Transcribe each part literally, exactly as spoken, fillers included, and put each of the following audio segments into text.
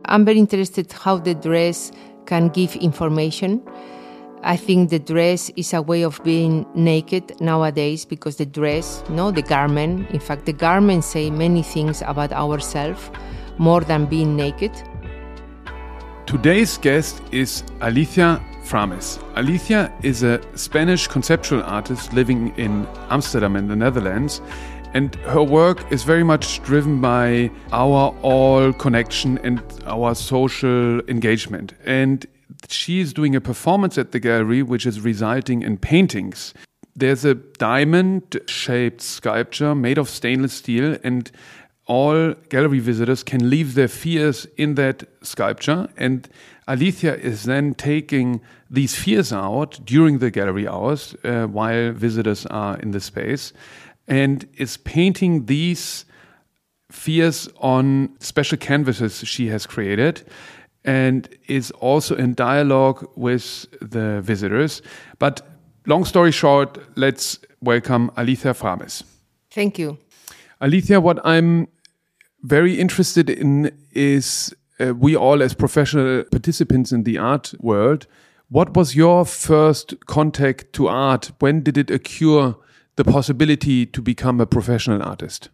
I'm very interested how the dress can give information. I think the dress is a way of being naked nowadays because the dress, no, the garment, in fact, the garments say many things about ourselves more than being naked. Today's guest is Alicia Framis. Alicia is a Spanish conceptual artist living in Amsterdam in the Netherlands, and her work is very much driven by our all connection and our social engagement. And she is doing a performance at the gallery which is resulting in paintings. There's a diamond-shaped sculpture made of stainless steel, and all gallery visitors can leave their fears in that sculpture. And Alicia is then taking these fears out during the gallery hours uh, while visitors are in the space, and is painting these fears on special canvases she has created, and is also in dialogue with the visitors. But long story short, let's welcome Alicia Framis. Thank you. Alicia, what I'm very interested in is uh, we all as professional participants in the art world, what was your first contact to art? When did it occur the possibility to become a professional artist?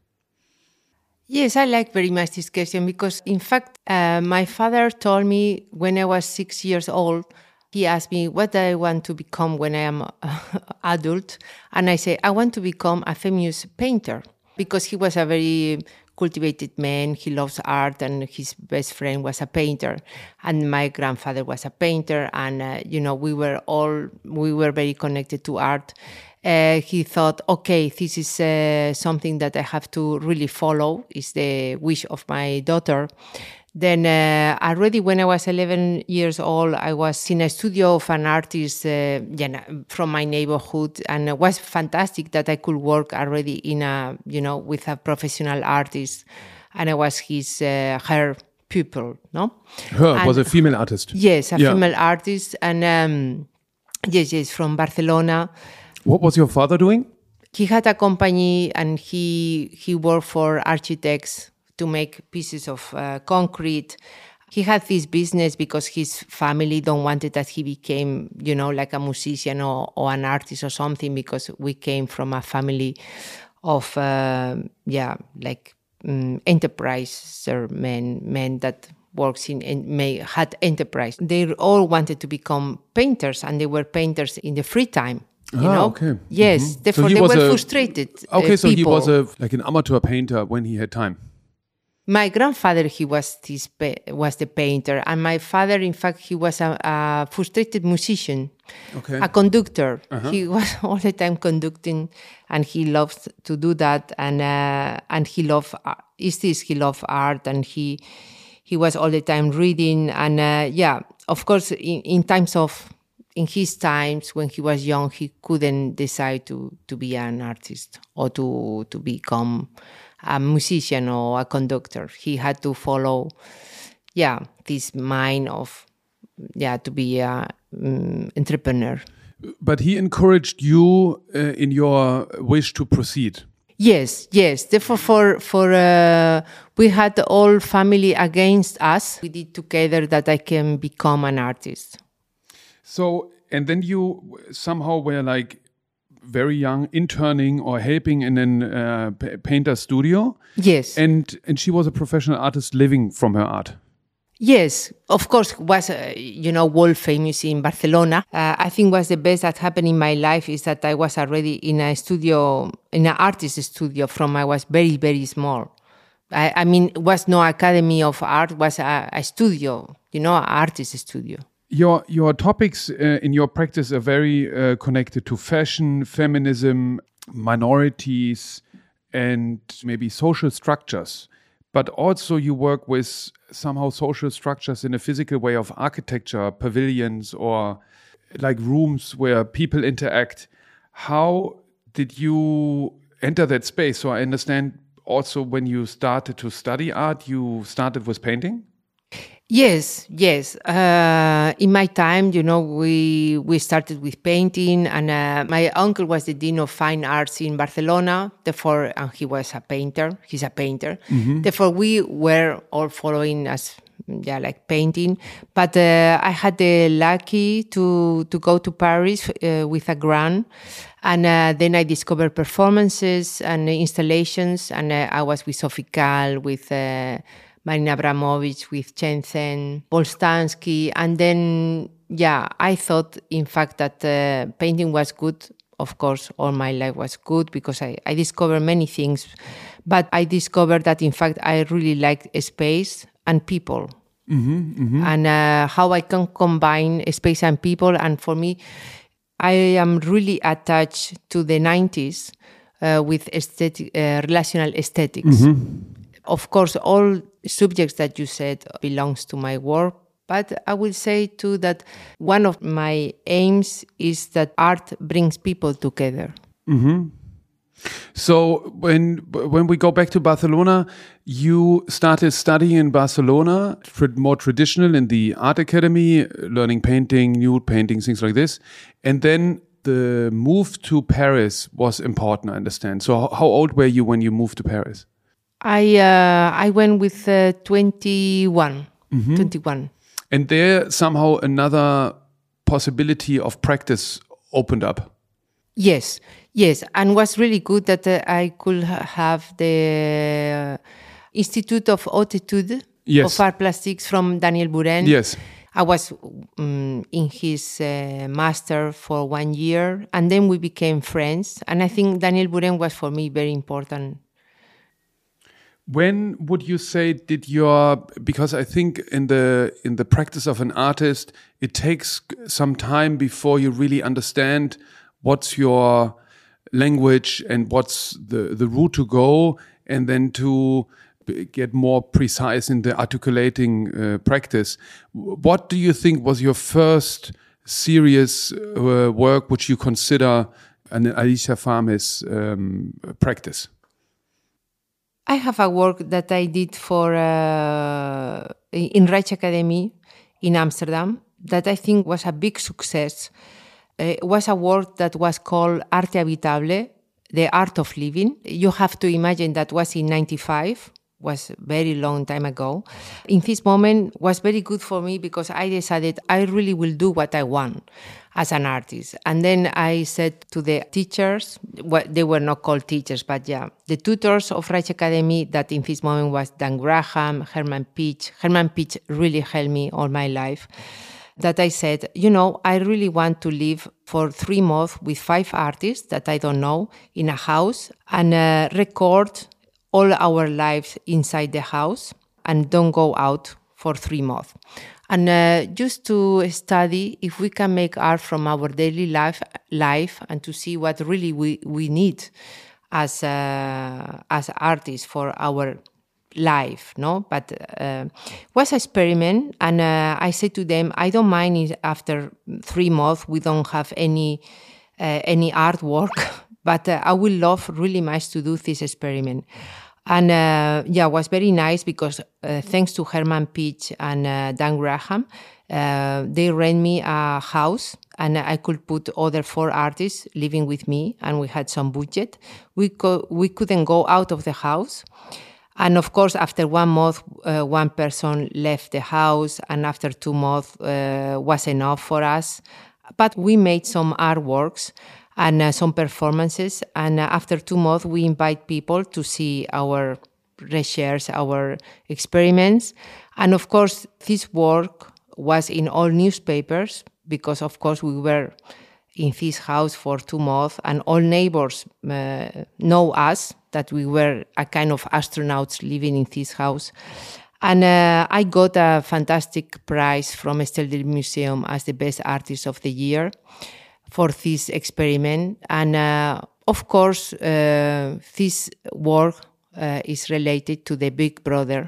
Yes, I like very much this question because, in fact, uh, my father told me when I was six years old, he asked me, what do I want to become when I am uh, adult? And I say, I want to become a famous painter because he was a very cultivated man. He loves art, and his best friend was a painter. And my grandfather was a painter, and, uh, you know, we were all, we were very connected to art. Uh, he thought, okay, this is uh, something that I have to really follow, is the wish of my daughter. Then uh, already when I was eleven years old, I was in a studio of an artist uh, you know, from my neighborhood, and it was fantastic that I could work already in a, you know, with a professional artist, and I was his, uh, her pupil, no? Her and, was a female artist. Yes, a yeah. female artist, and um, yes, yes, from Barcelona. What was your father doing? He had a company, and he he worked for architects to make pieces of uh, concrete. He had this business because his family don't wanted that he became, you know, like a musician or, or an artist or something, because we came from a family of, uh, yeah, like um, enterpriser men, men that works in and may had enterprise. They all wanted to become painters, and they were painters in the free time. You ah, know? Okay. Yes, mm-hmm. therefore so they were a, frustrated. Okay, uh, so people. he was a like an amateur painter when he had time. My grandfather, he was this was the painter, and my father, in fact, he was a, a frustrated musician, okay. a conductor. Uh-huh. He was all the time conducting, and he loved to do that. And uh, and he loved is this he loved art, and he he was all the time reading. And uh, yeah, of course, in, in times of in his times when he was young, he couldn't decide to to be an artist or to to become a musician or a conductor. He had to follow, yeah, this mind of, yeah, to be a um, entrepreneur. But he encouraged you uh, in your wish to proceed. Yes, yes. Therefore, for for uh, we had the whole family against us. We did together that I can become an artist. So, and then you somehow were like very young, interning or helping in a uh, painter studio. Yes. And and she was a professional artist living from her art. Yes, of course, was, uh, you know, world famous in Barcelona. Uh, I think was the best that happened in my life is that I was already in a studio, in an artist studio from I was very, very small. I, I mean, it was no academy of art, it was a, a studio, you know, an artist studio. Your your topics uh, in your practice are very uh, connected to fashion, feminism, minorities, and maybe social structures. But also you work with somehow social structures in a physical way of architecture, pavilions, or like rooms where people interact. How did you enter that space? So I understand also when you started to study art, you started with painting? Yes, yes. Uh, in my time, you know, we we started with painting, and uh, my uncle was the dean of fine arts in Barcelona. Therefore, and he was a painter. He's a painter. Mm-hmm. Therefore, we were all following as yeah, like painting. But uh, I had the lucky to to go to Paris uh, with a grant, and uh, then I discovered performances and installations, and uh, I was with Sophie Calle, with uh, Marina Abramovic, with Chen Zhen, Paul Stansky, and then yeah, I thought in fact that uh, painting was good. Of course, all my life was good because I, I discovered many things, but I discovered that in fact I really liked space and people, mm-hmm, mm-hmm. and uh, how I can combine space and people. And for me, I am really attached to the nineties uh, with aesthetic, uh, relational aesthetics. Mm-hmm. Of course, all subjects that you said belongs to my work. But I will say too that one of my aims is that art brings people together. Mm-hmm. So when when we go back to Barcelona, you started studying in Barcelona, more traditional in the art academy, learning painting, nude painting, things like this. And then the move to Paris was important, I understand. So how old were you when you moved to Paris? I uh, I went with uh, twenty-one. Mm-hmm. twenty-one. And there somehow another possibility of practice opened up. Yes, yes. And was really good that uh, I could ha- have the uh, Institute of Haute Etude yes. of Art Plastics from Daniel Buren. Yes. I was um, in his uh, master for one year, and then we became friends. And I think Daniel Buren was for me very important. When would you say did your, because I think in the in the practice of an artist, it takes some time before you really understand what's your language and what's the, the route to go, and then to get more precise in the articulating uh, practice. What do you think was your first serious uh, work which you consider an Alicia Farmes um, practice? I have a work that I did for uh, in Rijksacademie in Amsterdam that I think was a big success. It was a work that was called Arte Habitable, the art of living. You have to imagine that was in ninety-five, was a very long time ago. In this moment was very good for me because I decided I really will do what I want as an artist. And then I said to the teachers, well, they were not called teachers, but yeah, the tutors of Rijksacademie, that in this moment was Dan Graham, Herman Pitch. Herman Pitch really helped me all my life. That I said, you know, I really want to live for three months with five artists that I don't know in a house and uh, record all our lives inside the house and don't go out for three months. And uh, just to study if we can make art from our daily life, life and to see what really we, we need as uh, as artists for our life, no? But uh, was an experiment, and uh, I said to them, I don't mind if after three months we don't have any uh, any artwork, but uh, I would love really much to do this experiment. And uh, yeah, it was very nice because uh, thanks to Herman Pitch and uh, Dan Graham, uh, they rent me a house and I could put other four artists living with me, and we had some budget. We co- we couldn't go out of the house. And of course, after one month, uh, one person left the house, and after two months uh, was enough for us. But we made some artworks and uh, some performances. And uh, after two months, we invite people to see our research, our experiments. And of course, this work was in all newspapers because, of course, we were in this house for two months and all neighbors uh, know us, that we were a kind of astronauts living in this house. And uh, I got a fantastic prize from Estelle del Museum as the best artist of the year for this experiment. And uh, of course, uh, this work uh, is related to the Big Brother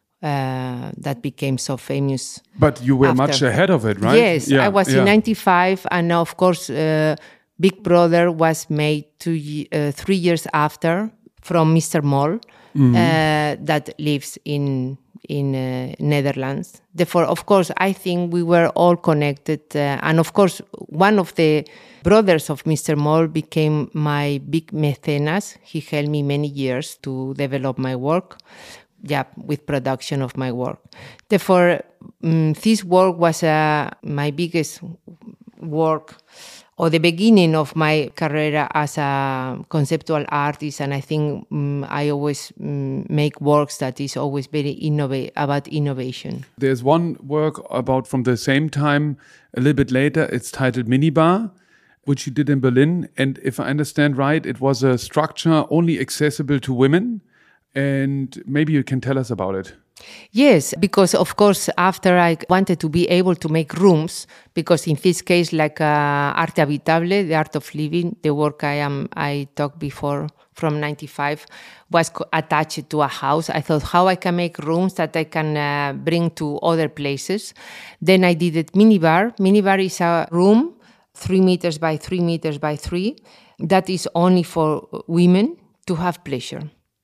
uh, that became so famous. But you were after. much ahead of it, right? Yes, yeah, I was yeah. in ninety-five, and of course, uh, Big Brother was made two, uh, three years after from Mister Mol, mm-hmm. uh, that lives in in uh, Netherlands. Therefore, of course, I think we were all connected. Uh, and of course, one of the brothers of Mister Mol became my big mecenas. He helped me many years to develop my work. yeah, with production of my work. Therefore, um, this work was uh, my biggest work, or the beginning of my career as a conceptual artist. And I think um, I always um, make works that is always very innova- about innovation. There's one work about from the same time, a little bit later. It's titled Minibar, which you did in Berlin. And if I understand right, it was a structure only accessible to women. And maybe you can tell us about it. Yes, because of course, after I wanted to be able to make rooms, because in this case, like uh, Arte Habitable, the art of living, the work I am I talked before from ninety-five, was co- attached to a house. I thought how I can make rooms that I can uh, bring to other places. Then I did it Minibar. Minibar is a room, three meters by three meters by three, that is only for women to have pleasure.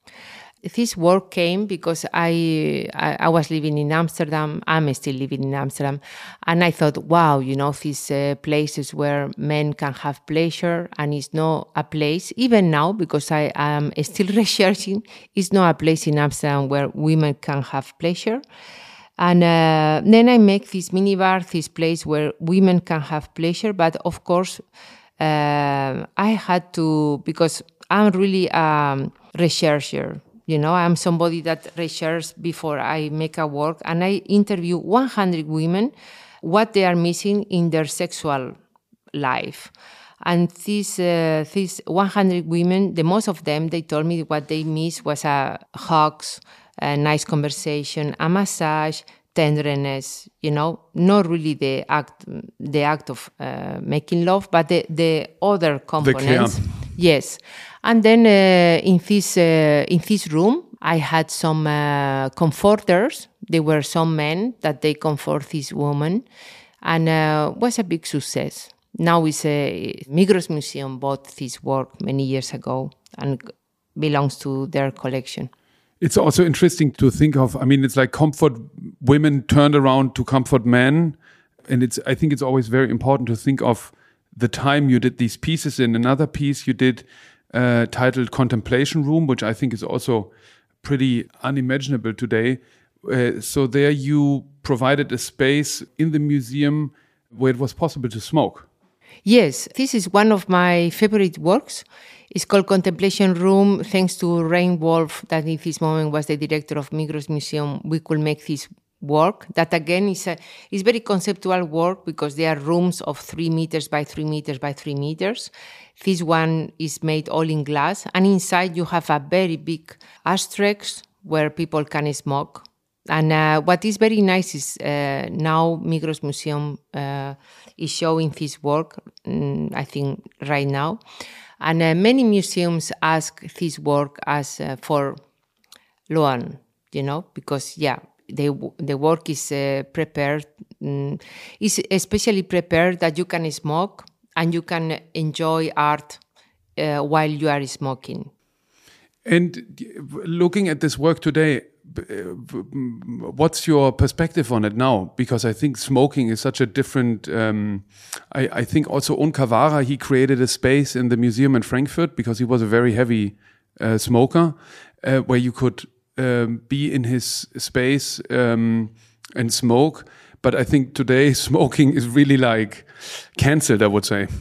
This work came because I, I I was living in Amsterdam. I'm still living in Amsterdam. And I thought, wow, you know, these uh, places where men can have pleasure, and it's not a place, even now, because I am still researching, it's not a place in Amsterdam where women can have pleasure. And uh, then I make this minibar, this place where women can have pleasure. But of course, uh, I had to, because I'm really a researcher. You know, I'm somebody that researches before I make a work, and I interview one hundred women, what they are missing in their sexual life. And these, uh, these one hundred women, the most of them, they told me what they miss was a hugs, a nice conversation, a massage, tenderness, you know, not really the act, the act of uh, making love, but the, the other components. The care. Yes. And then uh, in this uh, in this room, I had some uh, comforters. There were some men that they comfort this woman, and uh, was a big success. Now it's a Migros Museum bought this work many years ago and belongs to their collection. It's also interesting to think of. I mean, it's like comfort women turned around to comfort men, and it's. I think it's always very important to think of the time you did these pieces in. Another piece you did. Uh, titled Contemplation Room, which I think is also pretty unimaginable today. Uh, so there you provided a space in the museum where it was possible to smoke. Yes, this is one of my favorite works. It's called Contemplation Room. Thanks to Rain Wolf, that in this moment was the director of Migros Museum, we could make this work. That again is a is very conceptual work because there are rooms of three meters by three meters by three meters. This one is made all in glass, and inside you have a very big ashtrays where people can smoke. And uh, what is very nice is uh, now Migros Museum uh, is showing this work, um, I think right now. And uh, many museums ask this work as uh, for loan, you know, because, yeah, the the work is uh, prepared, um, is especially prepared that you can smoke and you can enjoy art uh, while you are smoking. And looking at this work today, what's your perspective on it now? Because I think smoking is such a different, um, I, I think also On Cavara, he created a space in the museum in Frankfurt because he was a very heavy uh, smoker uh, where you could um, be in his space um, and smoke. But I think today smoking is really like cancelled, I would say.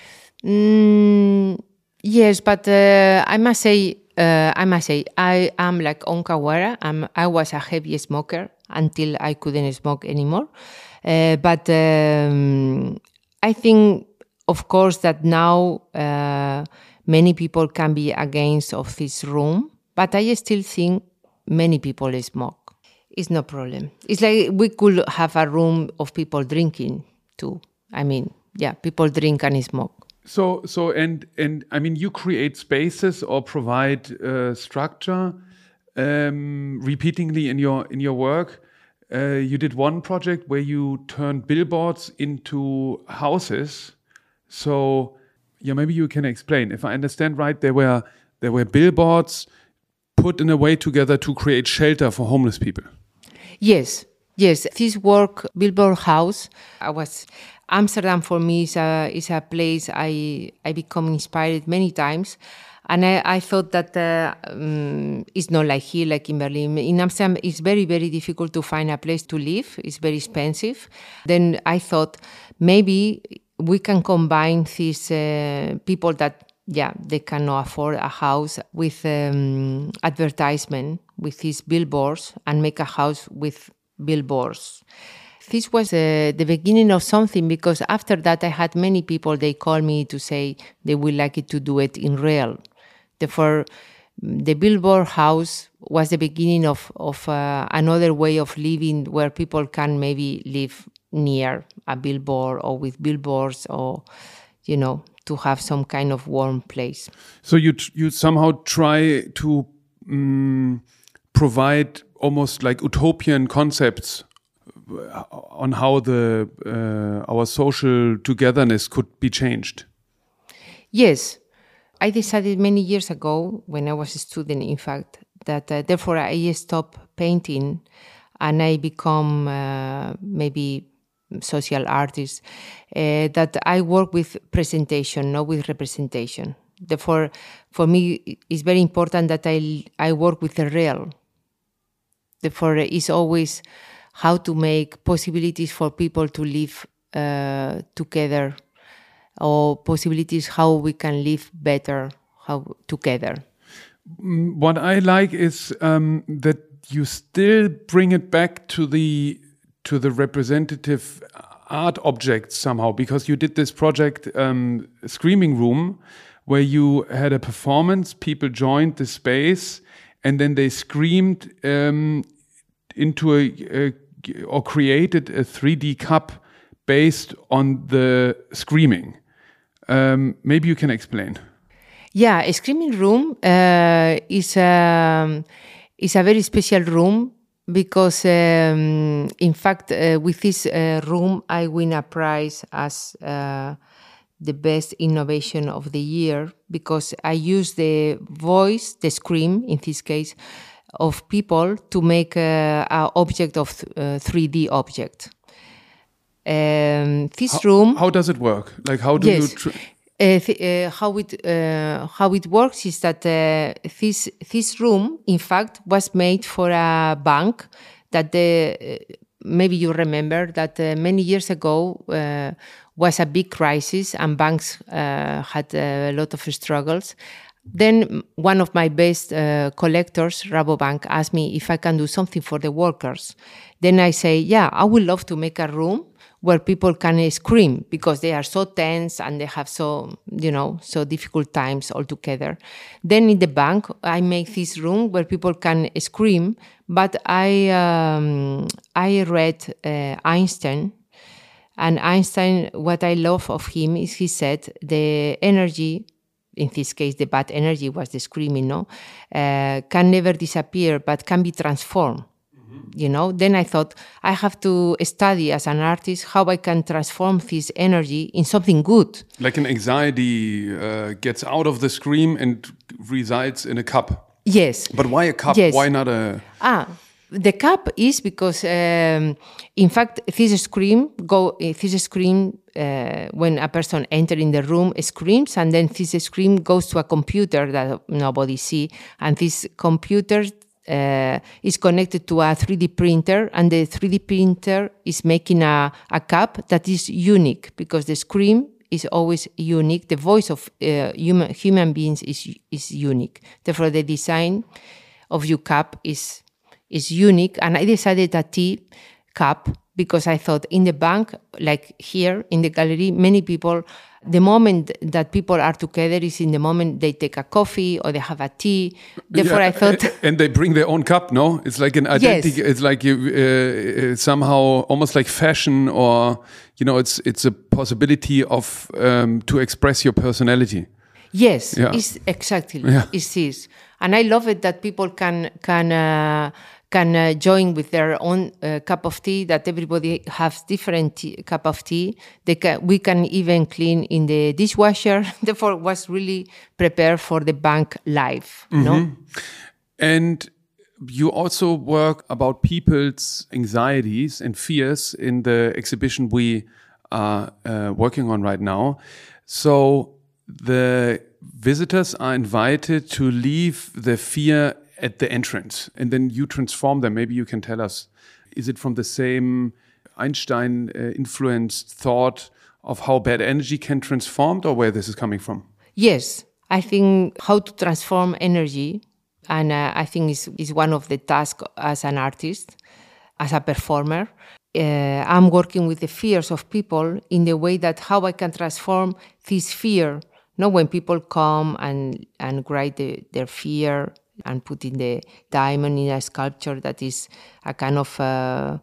Mm, yes, but uh, I must say, Uh, I must say, I am like On Cavara. I'm, I was a heavy smoker until I couldn't smoke anymore. Uh, but um, I think, of course, that now uh, many people can be against of this room. But I still think many people smoke. It's no problem. It's like we could have a room of people drinking too. I mean, yeah, people drink and smoke. So, so, and and I mean, you create spaces or provide uh, structure um, repeatedly in your in your work. Uh, you did one project where you turned billboards into houses. So, yeah, maybe you can explain. If I understand right, there were there were billboards put in a way together to create shelter for homeless people. Yes. Yes, this work, Billboard House, I was Amsterdam for me is a is a place I I become inspired many times, and I, I thought that uh, um, it's not like here, like in Berlin. In Amsterdam, it's very very difficult to find a place to live. It's very expensive. Then I thought maybe we can combine these uh, people that yeah they cannot afford a house with um, advertisement with these billboards and make a house with billboards. This was uh, the beginning of something, because after that I had many people, they call me to say they would like it to do it in real. Therefore, the Billboard House was the beginning of, of uh, another way of living where people can maybe live near a billboard or with billboards, or, you know, to have some kind of warm place. So you, you somehow try to um, provide almost like utopian concepts on how the uh, our social togetherness could be changed. Yes, I decided many years ago when I was a student, in fact, that uh, therefore I stopped painting and I become uh, maybe social artist, uh, that I work with presentation, not with representation. Therefore, for me, it's very important that I I work with the real. Therefore, it's always how to make possibilities for people to live uh, together, or possibilities how we can live better how together. What I like is um, that you still bring it back to the to the representative art objects somehow, because you did this project, um, Screaming Room, where you had a performance, people joined the space, and then they screamed um, into a, a or created a three D cup based on the screaming. Um, maybe you can explain. Yeah, a Screaming Room uh, is a is a very special room, because um, in fact uh, with this uh, room I win a prize as uh, the best innovation of the year, because I use the voice, the scream in this case, of people to make an object of uh, three D object. Um, this how, room. How does it work? Like how do yes, you? Tr- uh, th- uh, how it uh, how it works is that uh, this this room, in fact, was made for a bank that the uh, maybe you remember that uh, many years ago uh, was a big crisis and banks uh, had a lot of struggles. Then one of my best uh, collectors, Rabobank, asked me if I can do something for the workers. Then I say, yeah, I would love to make a room where people can scream, because they are so tense and they have so, you know, so difficult times all together. Then in the bank, I make this room where people can scream, but I um, I read uh, Einstein, and Einstein, what I love of him is he said the energy, in this case, the bad energy was the screaming, no, uh, can never disappear, but can be transformed. Mm-hmm. You know, then I thought I have to study as an artist how I can transform this energy in something good. Like an anxiety uh, gets out of the scream and resides in a cup. Yes. But why a cup? Yes. Why not a... Ah, the cup is because, um, in fact, this scream go. This scream uh, when a person enters in the room screams, and then this scream goes to a computer that nobody see, and this computer uh, is connected to a three D printer, and the three D printer is making a, a cup that is unique, because the scream is always unique. The voice of uh, human human beings is is unique. Therefore, the design of your cup is. is unique, and I decided a tea cup because I thought in the bank, like here in the gallery, many people, the moment that people are together is in the moment they take a coffee or they have a tea. Therefore, yeah, I thought, and they bring their own cup. No, it's like an identity. Yes. It's like you uh, somehow almost like fashion, or you know, it's it's a possibility of um, to express your personality. Yes, yeah. it's exactly yeah. it's this, and I love it that people can can. Uh, can uh, join with their own uh, cup of tea, that everybody has different tea, cup of tea. They can, we can even clean in the dishwasher. Therefore, was really prepared for the bank life. Mm-hmm. No? And you also work about people's anxieties and fears in the exhibition we are uh, working on right now. So the visitors are invited to leave the fear at the entrance, and then you transform them. Maybe you can tell us, is it from the same Einstein-influenced uh, thought of how bad energy can transform, or where this is coming from? Yes, I think how to transform energy, and uh, I think is is one of the tasks as an artist, as a performer. Uh, I'm working with the fears of people in the way that how I can transform this fear. Not when people come and and write the, their fear and put in the diamond in a sculpture that is a kind of uh,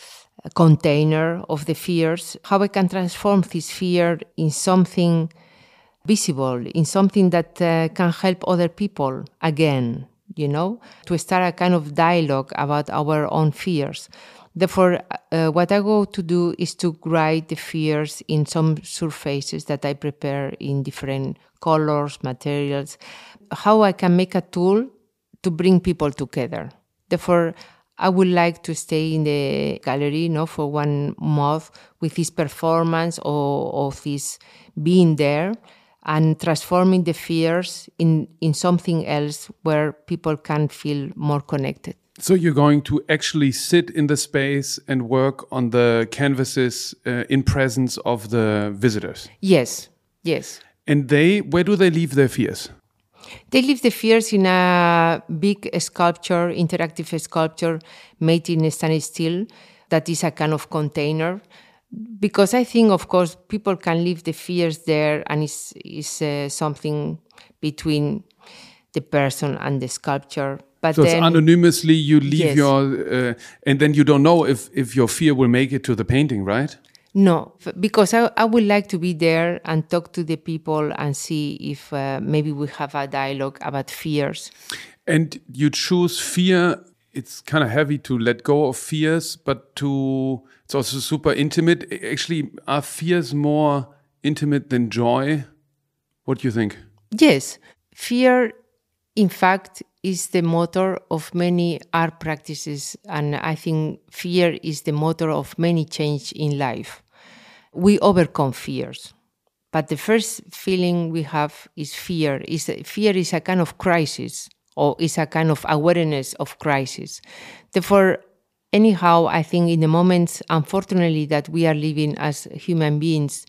a container of the fears. How I can transform this fear in something visible, in something that uh, can help other people again, you know, to start a kind of dialogue about our own fears. Therefore, uh, what I go to do is to write the fears in some surfaces that I prepare in different colors, materials, how I can make a tool to bring people together. Therefore, I would like to stay in the gallery, you know, for one month with this performance or, or this being there and transforming the fears in, in something else where people can feel more connected. So you're going to actually sit in the space and work on the canvases uh, in presence of the visitors? Yes, yes. And they, where do they leave their fears? They leave the fears in a big sculpture, interactive sculpture made in stainless steel that is a kind of container. Because I think, of course, people can leave the fears there and it's, it's uh, something between the person and the sculpture. But so then, it's anonymously you leave yes. your, uh, and then you don't know if, if your fear will make it to the painting, right? No, because I, I would like to be there and talk to the people and see if uh, maybe we have a dialogue about fears. And you choose fear. It's kind of heavy to let go of fears, but to it's also super intimate. Actually, are fears more intimate than joy? What do you think? Yes, fear, in fact, is the motor of many art practices, and I think fear is the motor of many change in life. We overcome fears, but the first feeling we have is fear. Is fear is a kind of crisis, or is a kind of awareness of crisis. Therefore, anyhow, I think in the moments, unfortunately, that we are living as human beings,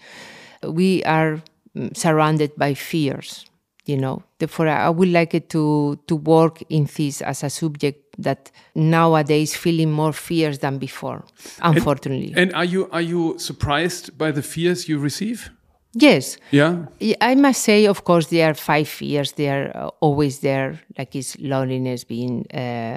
we are surrounded by fears. You know, therefore, I would like it to to work in this as a subject that nowadays feeling more fears than before, unfortunately. And, and are you are you surprised by the fears you receive? Yes. Yeah. I must say, of course, there are five fears. They are always there, like it's loneliness, being uh,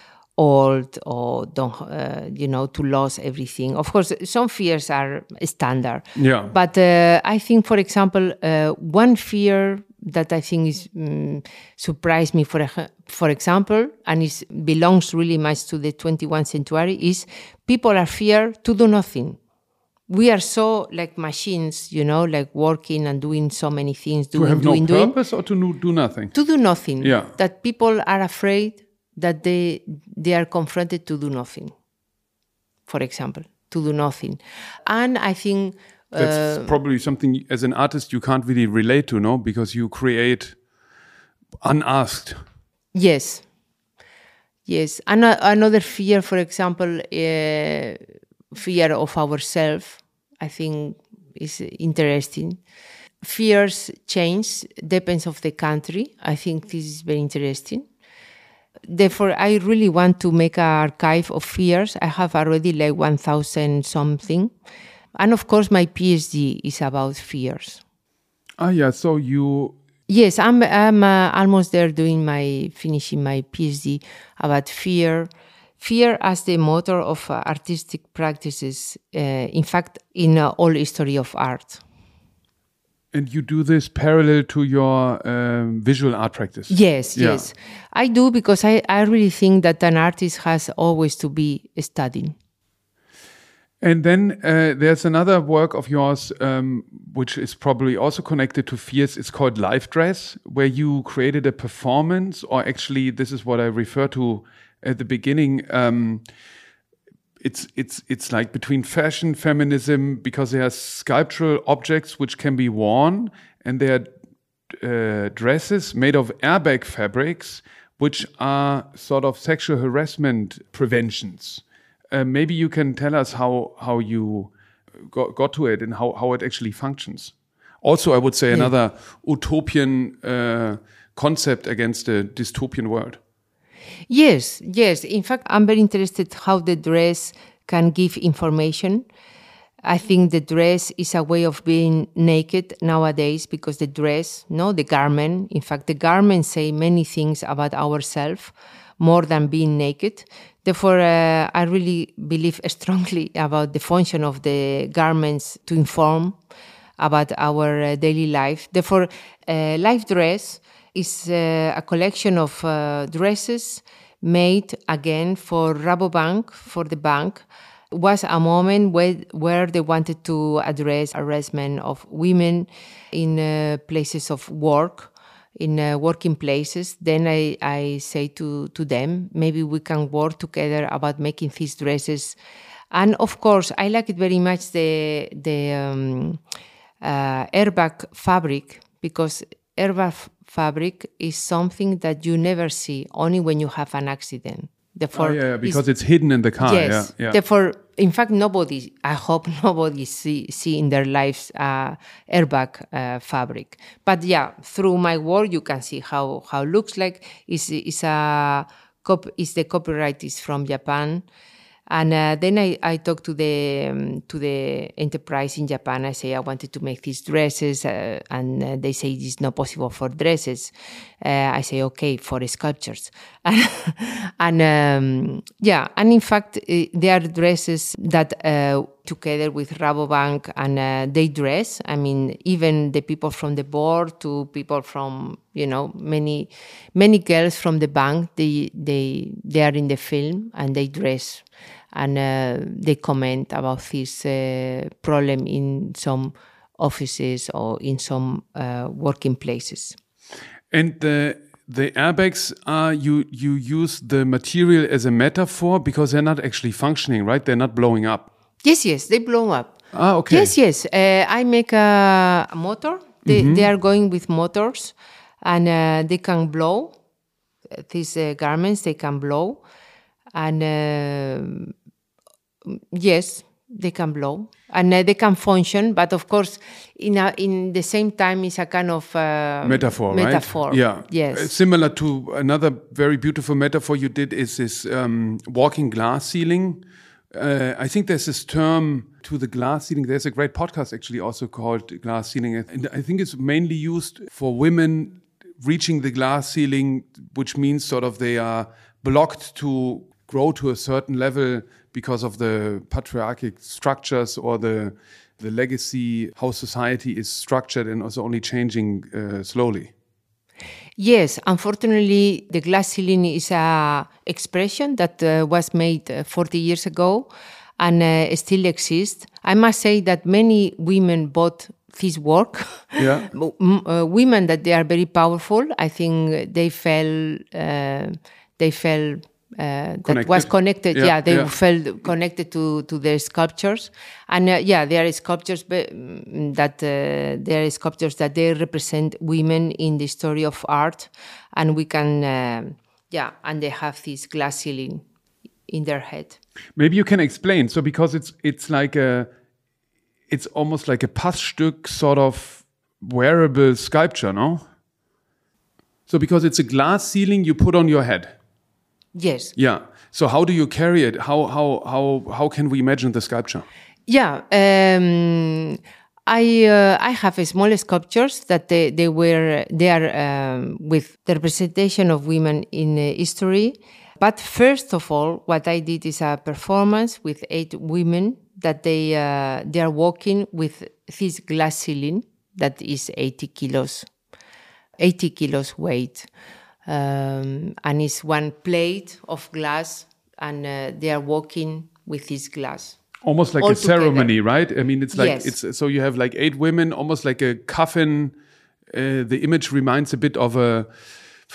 old, or don't, uh, you know, to lose everything. Of course, some fears are standard. Yeah. But uh, I think, for example, uh, one fear that I think is um, surprised me, for for example, and it belongs really much to the twenty-first century, is people are fear to do nothing. We are so like machines, you know, like working and doing so many things, doing, to have doing, no doing. purpose or to do nothing? To do nothing. Yeah. That people are afraid that they they are confronted to do nothing. For example, to do nothing, and I think. That's uh, probably something as an artist you can't really relate to, no? Because you create unasked. Yes. Yes. And another fear, for example, uh, fear of ourselves, I think is interesting. Fears change, depends of the country. I think this is very interesting. Therefore, I really want to make an archive of fears. I have already like one thousand something. And of course, my PhD is about fears. Ah, yeah. So you. Yes, I'm. I'm uh, almost there, doing my finishing my PhD about fear. Fear as the motor of uh, artistic practices. Uh, in fact, in uh, all history of art. And you do this parallel to your um, visual art practice? Yes, yeah. yes, I do, because I, I really think that an artist has always to be studying. And then uh, there's another work of yours, um, which is probably also connected to fears. It's called Life Dress, where you created a performance, or actually this is what I refer to at the beginning. Um, it's it's it's like between fashion, feminism, because they are sculptural objects which can be worn, and they are uh, dresses made of airbag fabrics, which are sort of sexual harassment preventions. Uh, maybe you can tell us how how you got, got to it and how, how it actually functions. Also, I would say yeah. another utopian uh, concept against a dystopian world. Yes, yes. In fact, I'm very interested how the dress can give information. I think the dress is a way of being naked nowadays, because the dress, no, the garment, in fact, the garments say many things about ourselves more than being naked. Therefore, uh, I really believe strongly about the function of the garments to inform about our uh, daily life. Therefore, uh, Life Dress is uh, a collection of uh, dresses made again for Rabobank, for the bank. It was a moment where, where they wanted to address harassment of women in uh, places of work, in uh, working places. Then I, I say to, to them, maybe we can work together about making these dresses. And of course, I like it very much, the, the um, uh, airbag fabric, because airbag fabric is something that you never see, only when you have an accident. Therefore, oh, yeah, because it's, it's hidden in the car. Yes. Yeah, yeah. Therefore, in fact, nobody, I hope nobody see, see in their lives uh, airbag uh, fabric. But yeah, through my work, you can see how how it looks like. Is is a cop is the copyright is from Japan. And uh, then I, I talked to the um, to the enterprise in Japan. I say I wanted to make these dresses, uh, and uh, they say it's not possible for dresses. Uh, I say okay for sculptures, and, and um, yeah, and in fact uh, they are dresses that uh, together with Rabobank, and uh, they dress. I mean, even the people from the board to people from, you know, many many girls from the bank. They they they are in the film and they dress. And uh, they comment about this uh, problem in some offices or in some uh, working places. And the the airbags are you you use the material as a metaphor because they're not actually functioning, right? They're not blowing up. Yes, yes, they blow up. Ah, okay. Yes, yes. Uh, I make a, a motor. They mm-hmm. they are going with motors, and uh, they can blow. These uh, garments they can blow, and. Uh, Yes, they can blow and uh, they can function, but of course, in a, in the same time, it's a kind of uh, metaphor, metaphor. Right? Yeah, yes. Uh, similar to another very beautiful metaphor you did is this um, walking glass ceiling. Uh, I think there's this term to the glass ceiling. There's a great podcast actually also called Glass Ceiling, and I think it's mainly used for women reaching the glass ceiling, which means sort of they are blocked to grow to a certain level because of the patriarchal structures or the the legacy, how society is structured and also only changing uh, slowly. Yes, unfortunately, the glass ceiling is a expression that uh, was made uh, forty years ago and uh, still exists. I must say that many women bought this work. Yeah. uh, women that they are very powerful. I think they felt uh, they felt. Uh, that was connected, yeah, yeah they yeah. felt connected to, to their sculptures. And uh, yeah, there are sculptures be, that uh, there are sculptures that they represent women in the story of art, and we can, uh, yeah, and they have this glass ceiling in their head. Maybe you can explain. So because it's it's like a, it's almost like a Passstück sort of wearable sculpture, no? So because it's a glass ceiling you put on your head. Yes. Yeah. So how do you carry it? How how how how can we imagine the sculpture? Yeah. Um, I uh, I have small sculptures that they they were they are um, with the representation of women in uh, history. But first of all, what I did is a performance with eight women that they uh, they are walking with this glass ceiling that is eighty kilos, eighty kilos weight. Um, and it's one plate of glass, and uh, they are walking with this glass. Almost like a together. Ceremony, right? I mean, it's like yes. it's so you have like eight women, almost like a coffin. Uh, the image reminds a bit of a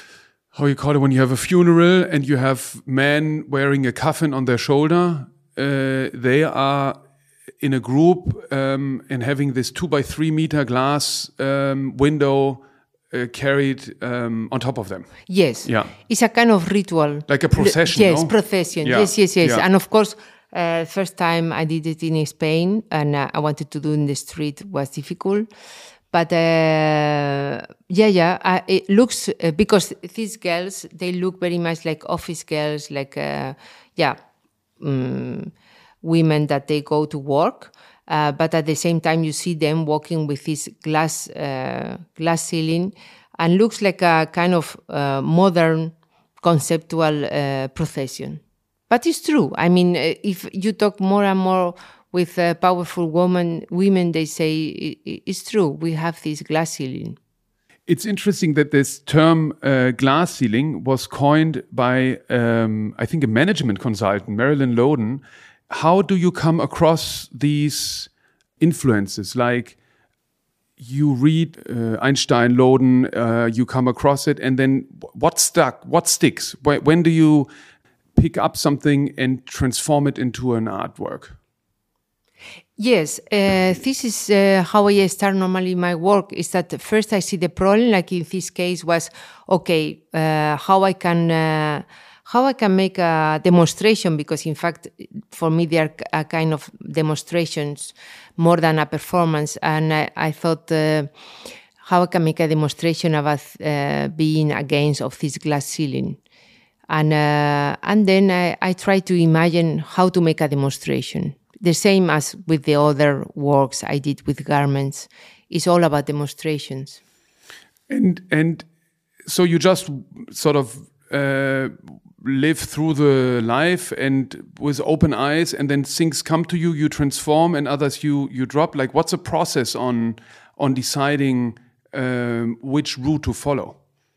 how you call it, when you have a funeral and you have men wearing a coffin on their shoulder. Uh, they are in a group um, and having this two by three meter glass um, window uh, carried um, on top of them. Yes. Yeah. It's a kind of ritual. Like a procession. Yes, no? procession. Yeah. Yes, yes, yes. Yeah. And of course, uh, first time I did it in Spain, and uh, I wanted to do in the street was difficult. But uh, yeah, yeah, uh, it looks, uh, because these girls, they look very much like office girls, like, uh, yeah, um, women that they go to work. Uh, but at the same time, you see them walking with this glass, uh, glass ceiling, and looks like a kind of uh, modern conceptual uh, procession. But it's true. I mean, uh, if you talk more and more with uh, powerful women, women, they say it's true. We have this glass ceiling. It's interesting that this term uh, glass ceiling was coined by, um, I think, a management consultant, Marilyn Loden. How do you come across these influences? Like you read uh, Einstein, Loden, uh, you come across it, and then what stuck? What sticks? When do you pick up something and transform it into an artwork? Yes, uh, this is uh, how I start normally my work, is that first I see the problem, like in this case was, okay, uh, how I can uh, how I can make a demonstration, because in fact, for me, they are a kind of demonstrations more than a performance. And I, I thought, uh, how I can make a demonstration about uh, being against of this glass ceiling. And, uh, and then I, I try to imagine how to make a demonstration. The same as with the other works I did with garments. It's all about demonstrations. And and so you just sort of uh, live through the life and with open eyes, and then things come to you, you transform, and others you you drop. Like, what's the process on on deciding um, which route to follow?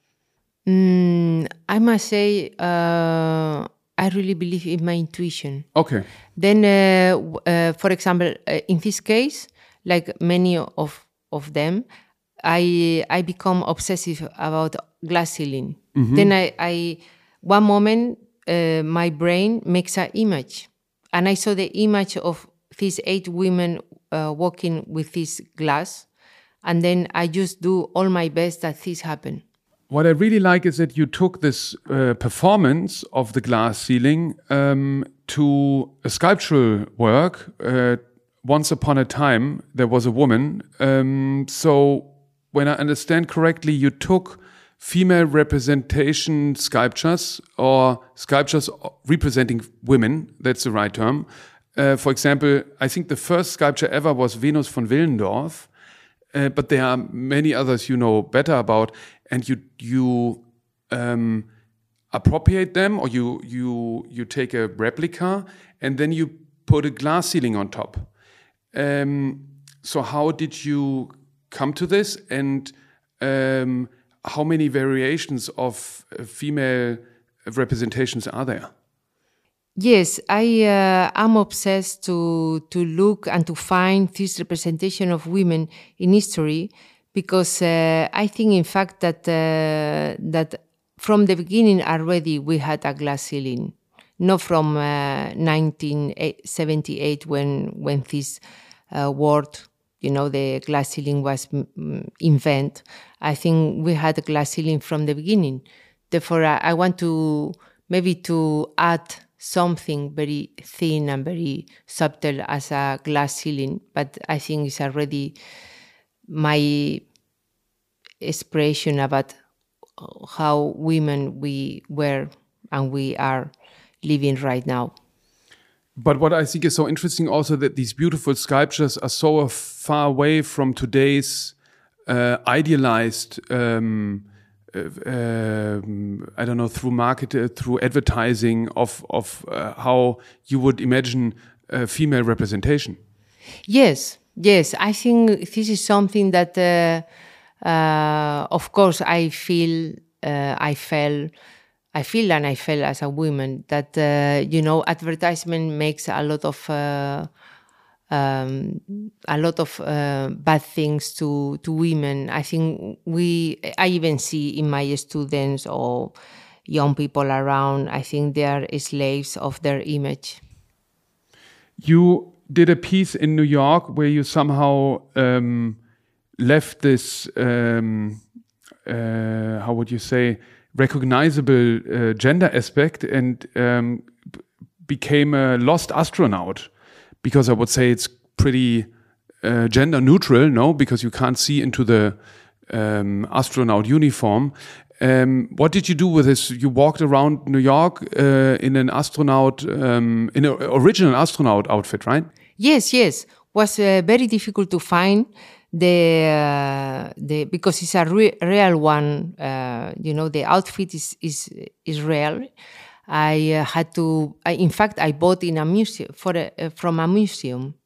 Mm, I must say, uh, I really believe in my intuition. Okay. Then, uh, uh, for example, uh, in this case, like many of of them, I I become obsessive about glass ceiling. Mm-hmm. Then I, I one moment uh, my brain makes an image, and I saw the image of these eight women uh, walking with this glass, and then I just do all my best that this happen. What I really like is that you took this uh, performance of the glass ceiling um, to a sculptural work. Uh, once upon a time, there was a woman. Um, so when I understand correctly, you took female representation sculptures or sculptures representing women. That's the right term. Uh, for example, I think the first sculpture ever was Venus von Willendorf. Uh, but there are many others you know better about, and you you um, appropriate them, or you you you take a replica and then you put a glass ceiling on top. Um, so how did you come to this, and um, how many variations of uh, female representations are there? Yes, I uh, am obsessed to to look and to find this representation of women in history, because uh, I think, in fact, that uh, that from the beginning already we had a glass ceiling, not from uh, nineteen seventy-eight when when this uh, word, you know, the glass ceiling was mm, invented. I think we had a glass ceiling from the beginning. Therefore, I, I want to maybe to add something very thin and very subtle as a glass ceiling, but I think it's already my expression about how women we were and we are living right now. But what I think is so interesting also, that these beautiful sculptures are so far away from today's uh, idealized um, Uh, I don't know, through market, uh, through advertising of of uh, how you would imagine uh, female representation. Yes, yes. I think this is something that, uh, uh, of course, I feel, uh, I felt, I feel, and I felt as a woman that uh, you know, advertisement makes a lot of uh, um, a lot of uh, bad things to to women. I think we, I even see in my students or young people around, I think they are slaves of their image. You did a piece in New York where you somehow um, left this, um, uh, how would you say, recognizable uh, gender aspect and um, b- became a lost astronaut. Because I would say it's pretty uh, gender neutral, no? Because you can't see into the um, astronaut uniform. Um, what did you do with this? You walked around New York uh, in an astronaut, um, in an original astronaut outfit, right? Yes, yes. Was uh, very difficult to find the uh, the because it's a re- real one. Uh, you know, the outfit is is is real. I uh, had to. I, in fact, I bought in a museum for a, uh, from a museum.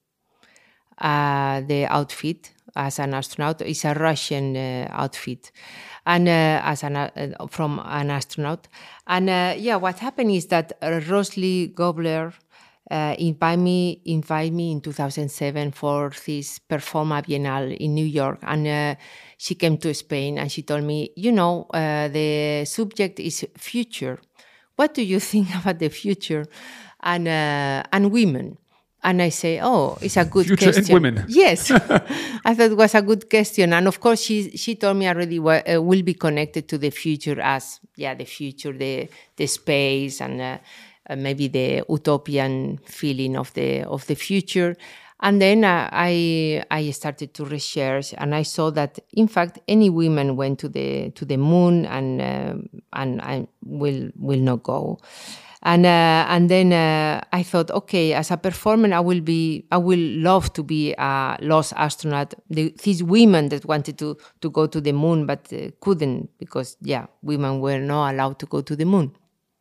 Uh, the outfit as an astronaut is a Russian uh, outfit, and uh, as an uh, from an astronaut. And uh, yeah, what happened is that uh, Rosely Gobler uh, invite me invite me in two thousand seven for this Performa Biennale in New York, and uh, she came to Spain and she told me, you know, uh, the subject is future. What do you think about the future and uh, and women? And I say, oh, it's a good Future question. and women. Yes, I thought it was a good question. And of course, she she told me already what uh, will be connected to the future as, yeah, the future, the the space, and uh, uh, maybe the utopian feeling of the of the future. And then uh, I I started to research, and I saw that in fact any women went to the to the moon and uh, and I will will not go. And uh, and then uh, I thought, okay, as a performer, I will be, I will love to be a lost astronaut. The, these women that wanted to to go to the moon but uh, couldn't because, yeah, women were not allowed to go to the moon.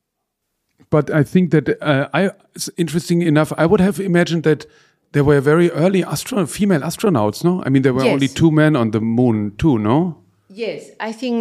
But I think that uh, I, interesting enough, I would have imagined that there were very early astro- female astronauts. No, I mean there were Yes. only two men on the moon too. No. Yes, I think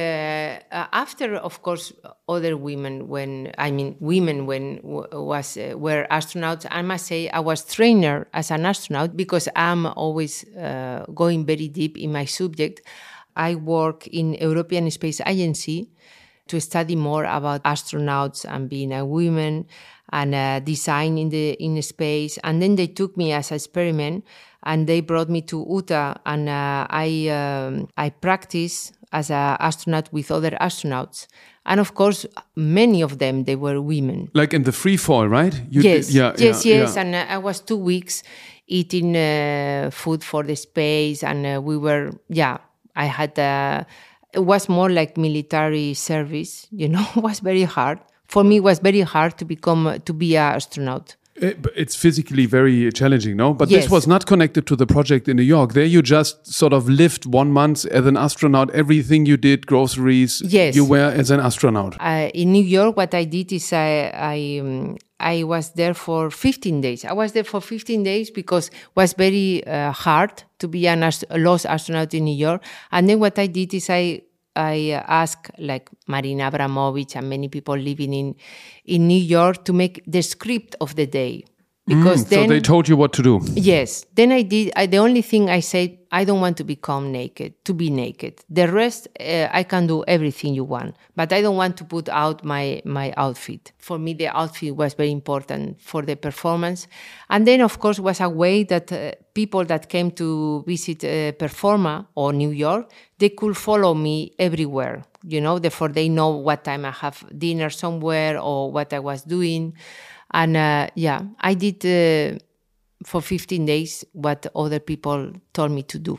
uh, uh, after, of course, other women, when I mean women, when w- was uh, were astronauts, I must say I was trainer as an astronaut because I'm always uh, going very deep in my subject. I work in European Space Agency to study more about astronauts and being a woman and uh, design in the in space. And then they took me as an experiment. And they brought me to Utah, and uh, I um, I practiced as an astronaut with other astronauts, and of course, many of them they were women. Like in the free fall, right? You yes, did, yeah, yes, yeah, yes. yeah. And uh, I was two weeks eating uh, food for the space, and uh, we were, yeah. I had uh, it was more like military service, you know. It was very hard for me. It was very hard to become to be an astronaut. It, it's physically very challenging, no? But Yes. this was not connected to the project in New York. There you just sort of lived one month as an astronaut. Everything you did, groceries, Yes. you were as an astronaut. Uh, in New York, what I did is I I, um, I was there for fifteen days. I was there for fifteen days because it was very uh, hard to be an ast- a lost astronaut in New York. And then what I did is I I asked like Marina Abramovich and many people living in in New York to make the script of the day. Because Mm, then so they told you what to do. Yes. Then I did, I, the only thing I said, I don't want to become naked, to be naked. The rest, uh, I can do everything you want, but I don't want to put out my, my outfit. For me, the outfit was very important for the performance. And then, of course, was a way that uh, people that came to visit uh, Performa or New York, they could follow me everywhere, you know, therefore they know what time I have dinner somewhere or what I was doing. And uh, yeah, I did uh, for fifteen days what other people told me to do.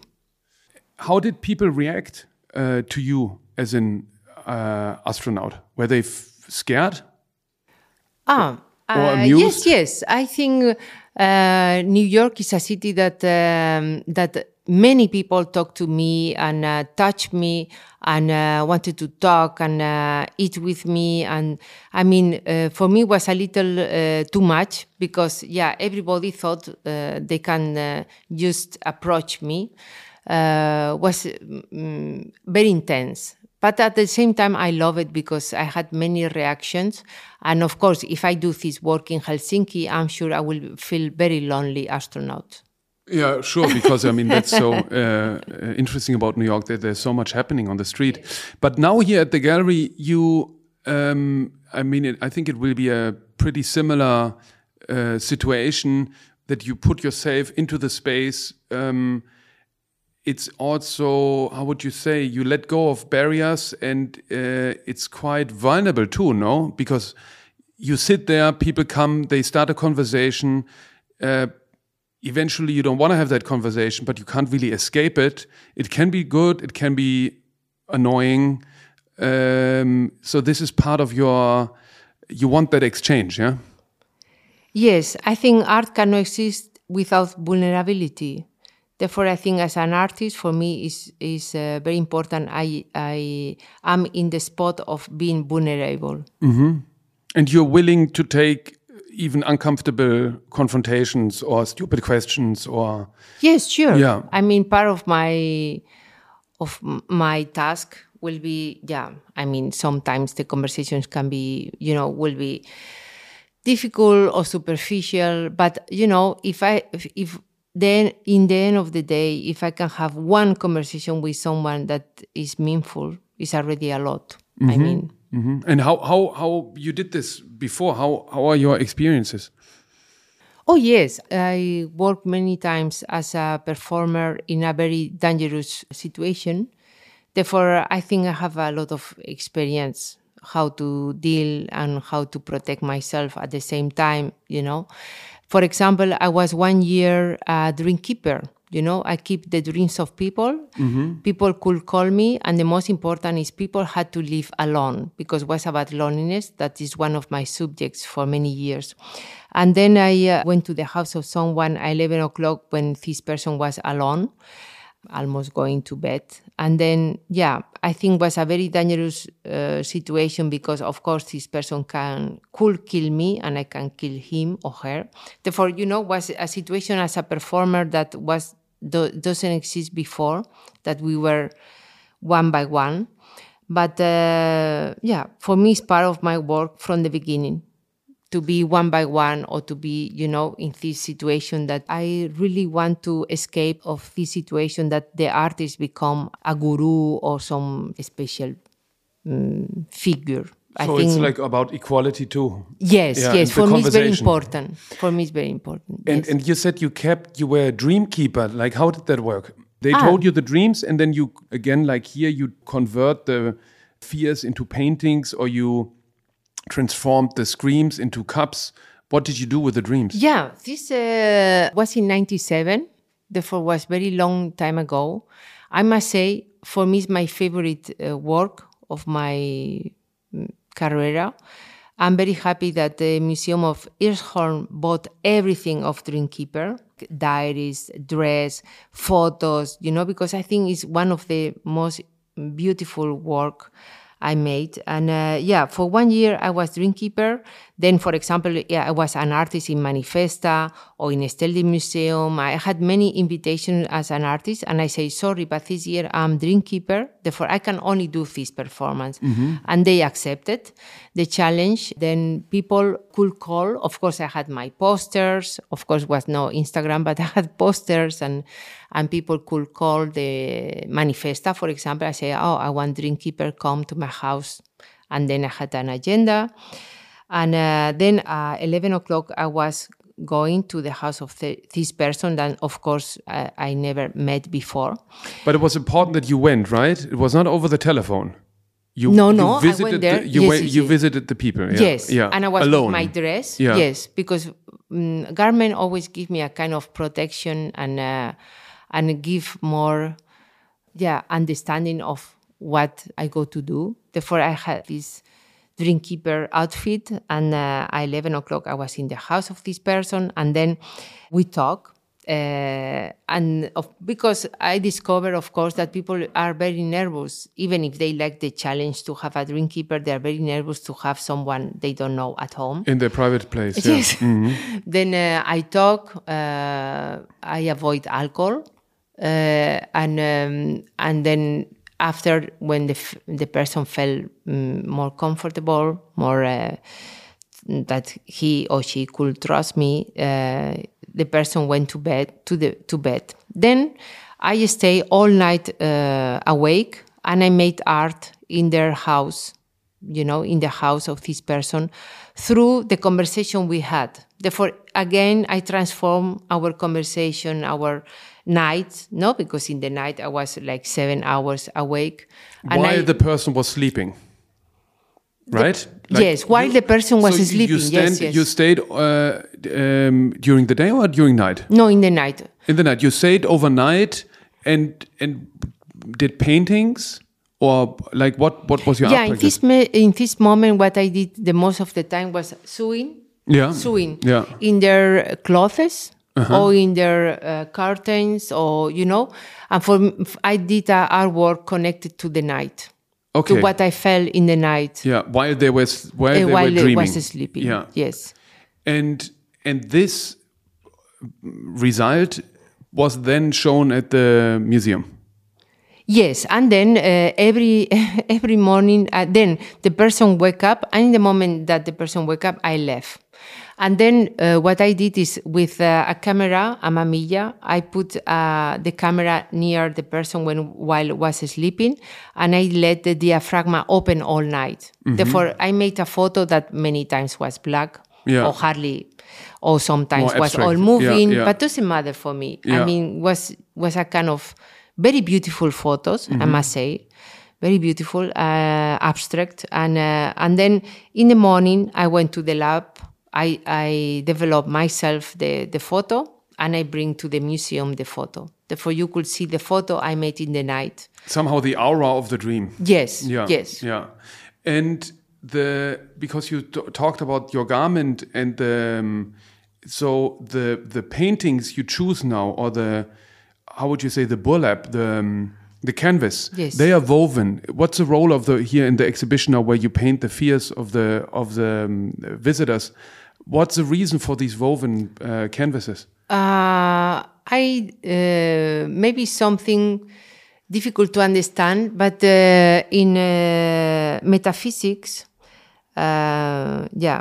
How did people react uh, to you as an uh, astronaut? Were they f- scared? Ah, Or uh, amused? yes, yes. I think uh, New York is a city that um, that many people talk to me and uh, touch me and uh, wanted to talk and uh, eat with me. And I mean, uh, for me, it was a little uh, too much because, yeah, everybody thought uh, they can uh, just approach me. Uh, was mm, very intense. But at the same time, I love it because I had many reactions. And of course, if I do this work in Helsinki, I'm sure I will feel very lonely astronaut. Yeah, sure, because I mean, that's so uh, interesting about New York that there's so much happening on the street. But now here at the gallery, you, um, I mean, it, I think it will be a pretty similar uh, situation that you put yourself into the space. Um, it's also, how would you say, you let go of barriers, and uh, it's quite vulnerable too, no? Because you sit there, people come, they start a conversation. Uh, eventually, you don't want to have that conversation, but you can't really escape it. It can be good, it can be annoying. Um, so this is part of your, you want that exchange, yeah? Yes, I think art cannot exist without vulnerability. Therefore, I think as an artist, for me, is is uh, very important. I I am in the spot of being vulnerable. Mm-hmm. And you're willing to take even uncomfortable confrontations or stupid questions, or yes, sure. Yeah. I mean, part of my of my task will be, yeah. I mean, sometimes the conversations can be, you know, will be difficult or superficial. But you know, if I if, if then in the end of the day, if I can have one conversation with someone that is meaningful, is already a lot. Mm-hmm. I mean, mm-hmm. And how how how you did this before? How how are your experiences? Oh yes, I worked many times as a performer in a very dangerous situation. Therefore, I think I have a lot of experience how to deal and how to protect myself at the same time, you know. For example, I was one year a dream keeper. You know, I keep the dreams of people. Mm-hmm. People could call me. And the most important is people had to live alone, because it was about loneliness. That is one of my subjects for many years. And then I uh, went to the house of someone at eleven o'clock when this person was alone, almost going to bed. And then, yeah, I think it was a very dangerous uh, situation because, of course, this person can could kill me and I can kill him or her. Therefore, you know, was a situation as a performer that was do, doesn't exist before, that we were one by one. But, uh, yeah, for me, it's part of my work from the beginning, to be one by one or to be, you know, in this situation that I really want to escape of this situation that the artist become a guru or some special um, figure. I so think it's like about equality too. Yes, yeah, yes. For me, it's very important. For me, it's very important. And yes. and you said you kept, you were a dream keeper. Like, how did that work? They ah. told you the dreams, and then you, again, like here, you convert the fears into paintings, or you transformed the screams into cups. What did you do with the dreams? Yeah, this uh, was in ninety-seven. Therefore, was very long time ago. I must say, for me, it's my favorite uh, work of my um, career. I'm very happy that the Museum of Hirschhorn bought everything of Dreamkeeper, diaries, dress, photos, you know, because I think it's one of the most beautiful work I made. And uh, yeah, for one year I was Dreamkeeper. Then, for example, yeah, I was an artist in Manifesta or in Stedelijk Museum. I had many invitations as an artist, and I say, sorry, but this year I'm Dreamkeeper, therefore I can only do this performance. Mm-hmm. And they accepted the challenge. Then people could call. Of course, I had my posters. Of course, was no Instagram, but I had posters, and and people could call the Manifesta, for example. I say, oh, I want Dreamkeeper, come to my house. And then I had an agenda. And uh, then at uh, eleven o'clock, I was going to the house of the, this person that, of course, I, I never met before. But it was important that you went, right? It was not over the telephone. You, no, no, you visited I went there. The, you yes, went, yes, you yes. visited the people. Yeah. Yes, yeah. And I was alone. with my dress. Yeah. Yes, because um, garment always give me a kind of protection and uh, and give more, yeah, understanding of what I go to do. Therefore, I had this Dreamkeeper outfit, and uh, at eleven o'clock I was in the house of this person, and then we talk. Uh, and of, because I discovered, of course, that people are very nervous, even if they like the challenge to have a Dreamkeeper, they are very nervous to have someone they don't know at home. In their private place, yes. Yeah. Mm-hmm. Then uh, I talk, uh, I avoid alcohol, uh, and um, and then after, when the the person felt um, more comfortable, more uh, that he or she could trust me, uh, the person went to bed to the to bed. Then I stay all night uh, awake, and I made art in their house, you know, in the house of this person, through the conversation we had. Therefore, again, I transform our conversation, our night, no, because in the night I was like seven hours awake. And while I, the person was sleeping, right? The, like yes, while you, the person was so sleeping. You stand, yes, yes. You stayed uh, um, during the day or during night? No, in the night. In the night. You stayed overnight and and did paintings? Or like what, what was your yeah, art in this, me, in this moment, what I did the most of the time was sewing. Yeah. Sewing. Yeah. In their clothes. Uh-huh. Or in their uh, curtains, or, you know, and for I did uh, artwork connected to the night, okay. to what I felt in the night. Yeah, while they was while uh, they while were dreaming, while was sleeping. Yeah, yes. And and this result was then shown at the museum. Yes, and then uh, every every morning, uh, then the person wake up, and in the moment that the person wake up, I left. And then uh, what I did is with uh, a camera, a mamilla, I put uh, the camera near the person when while was sleeping, and I let the diaphragm open all night. Mm-hmm. Therefore, I made a photo that many times was black, yeah. or hardly, or sometimes was all moving, yeah, yeah. but doesn't matter for me. Yeah. I mean, was was a kind of very beautiful photos, mm-hmm. I must say. Very beautiful, uh, abstract. And uh, and then in the morning, I went to the lab. I, I develop myself the, the photo, and I bring to the museum the photo. Therefore, you could see the photo I made in the night. Somehow the aura of the dream. Yes, yeah. yes. Yeah. And the because you t- talked about your garment and the, um, so the the paintings you choose now, or the, how would you say, the burlap, the... Um, The canvas, yes. They are woven. What's the role of the here in the exhibition now, where you paint the fears of the of the um, visitors? What's the reason for these woven uh, canvases? Uh, I uh, maybe something difficult to understand, but uh, in uh, metaphysics, uh, yeah,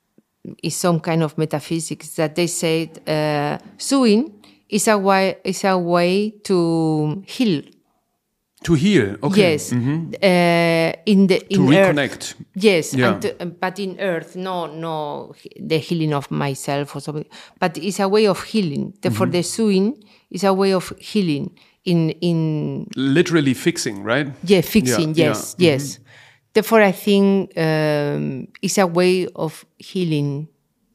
is some kind of metaphysics that they say uh, sewing is a way is a way to heal. To heal, okay. Yes, mm-hmm. uh, in the in to earth. reconnect. Yes, yeah. and to, but in earth, no, no, the healing of myself or something. But it's a way of healing. Therefore, mm-hmm. the sewing is a way of healing. In in literally fixing, right? Yeah, fixing. Yeah, yes, yeah. yes. Mm-hmm. Therefore, I think um, it's a way of healing.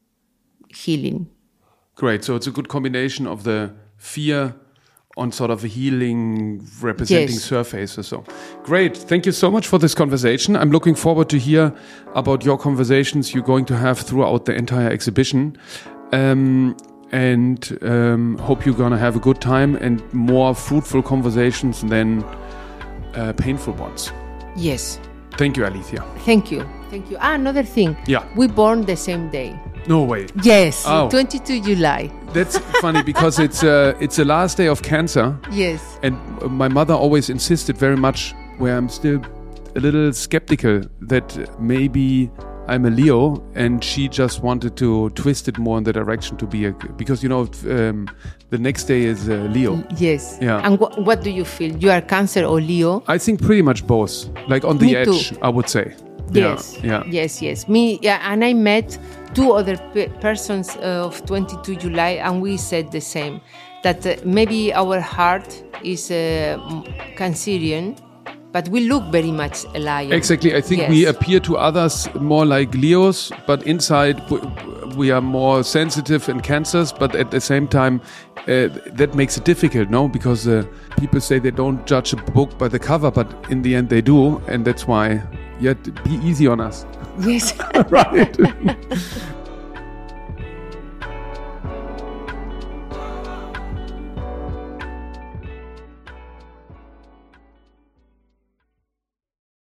Healing. Great. So it's a good combination of the fear on sort of a healing representing yes. surface or so. Great. Thank you so much for this conversation. I'm looking forward to hear about your conversations you're going to have throughout the entire exhibition. Um, and um, hope you're going to have a good time and more fruitful conversations than uh, painful ones. Yes. Thank you, Alicia. Thank you. Thank you. Ah, another thing. Yeah. We born the same day. No way. Yes, oh. twenty-second of July. That's funny because it's uh, it's the last day of Cancer. Yes. And my mother always insisted very much, where I'm still a little skeptical, that maybe I'm a Leo, and she just wanted to twist it more in the direction to be a, because, you know, um, the next day is uh, Leo. Yes. Yeah. And wh- what do you feel? You are Cancer or Leo? I think pretty much both. Like on the Me edge, too. I would say. Yes. Yeah. yeah. Yes, yes. Me, yeah, and I met two other pe- persons uh, of twenty-second of July, and we said the same, that uh, maybe our heart is uh, Cancerian, but we look very much alike. Exactly. I think yes. we appear to others more like Leos, but inside we are more sensitive and Cancers, but at the same time, uh, that makes it difficult, no? Because uh, people say they don't judge a book by the cover, but in the end they do, and that's why, yeah, be easy on us. Yes. Right.